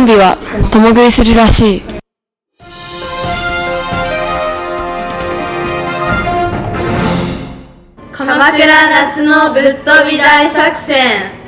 ンビは共食いするらしい。 鎌倉夏のぶっ飛び大作戦。